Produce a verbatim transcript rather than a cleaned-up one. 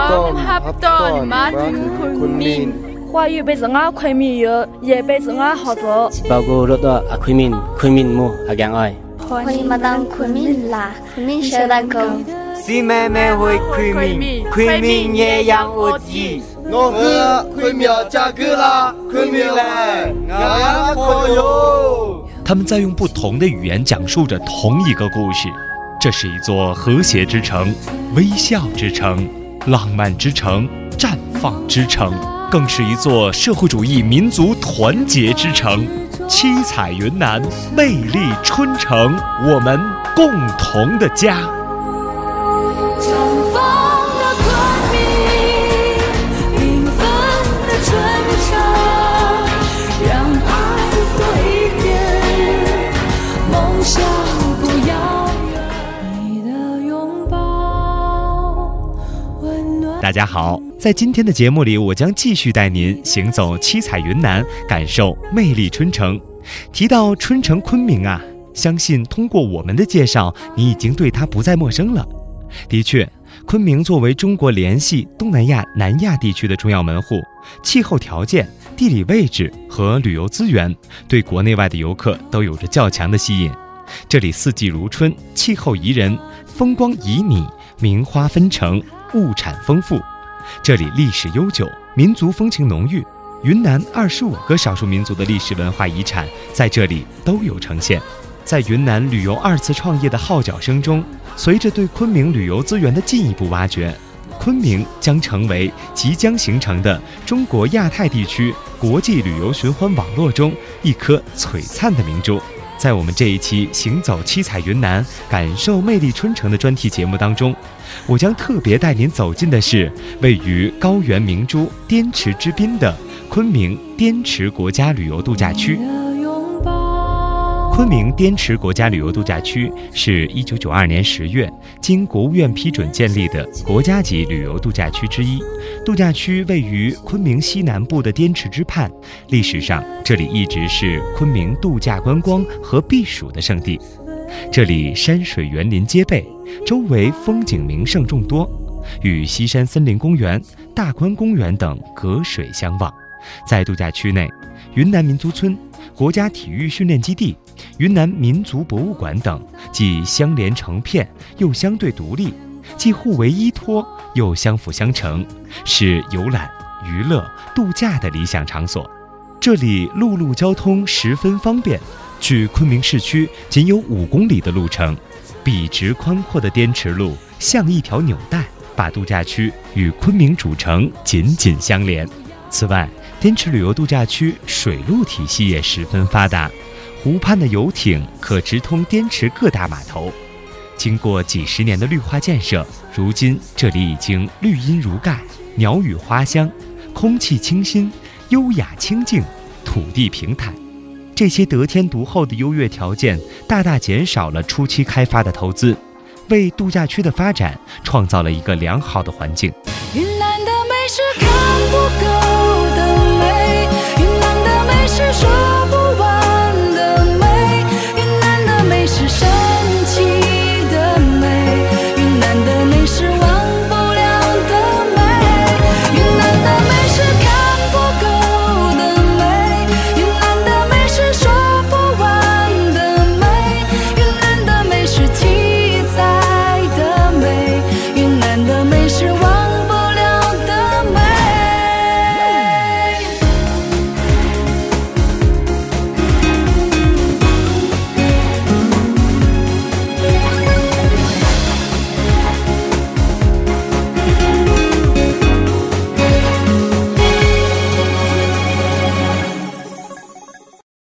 합동 많은 군민 华语被人啊昆明有，也被人啊好做。 包括rất多啊昆明昆明木啊讲爱。 欢迎马当昆明啦，昆明小蛋糕。 是妹妹会昆明，昆明也养我鸡。 我们昆明加格啦，昆明来，俺可有。 他们在用不同的语言讲述着同一个故事。这是一座和谐之城，微笑之城，浪漫之城，绽放之城，更是一座社会主义民族团结之城。七彩云南，魅力春城，我们共同的家。大家好，在今天的节目里，我将继续带您行走七彩云南，感受魅力春城。提到春城昆明啊，相信通过我们的介绍，你已经对它不再陌生了。的确，昆明作为中国联系东南亚、南亚地区的重要门户，气候条件、地理位置和旅游资源，对国内外的游客都有着较强的吸引。这里四季如春，气候宜人，风光旖旎，名花纷呈，物产丰富。这里历史悠久，民族风情浓郁，云南二十五个少数民族的历史文化遗产在这里都有呈现。在云南旅游二次创业的号角声中，随着对昆明旅游资源的进一步挖掘，昆明将成为即将形成的中国亚太地区国际旅游循环网络中一颗璀璨的明珠。在我们这一期行走七彩云南，感受魅力春城的专题节目当中，我将特别带您走进的是位于高原明珠滇池之滨的昆明滇池国家旅游度假区。昆明滇池国家旅游度假区是一九九二年十月经国务院批准建立的国家级旅游度假区之一。度假区位于昆明西南部的滇池之畔，历史上这里一直是昆明度假观光和避暑的圣地。这里山水园林皆备，周围风景名胜众多，与西山森林公园、大观公园等隔水相望。在度假区内，云南民族村、国家体育训练基地、云南民族博物馆等既相连成片又相对独立，既互为依托又相辅相成，是游览、娱乐、度假的理想场所。这里陆路交通十分方便，距昆明市区仅有五公里的路程。笔直宽阔的滇池路像一条纽带，把度假区与昆明主城紧紧相连。此外，滇池旅游度假区水路体系也十分发达，湖畔的游艇可直通滇池各大码头。经过几十年的绿化建设，如今这里已经绿荫如盖，鸟语花香，空气清新，优雅清静，土地平坦。这些得天独厚的优越条件大大减少了初期开发的投资，为度假区的发展创造了一个良好的环境。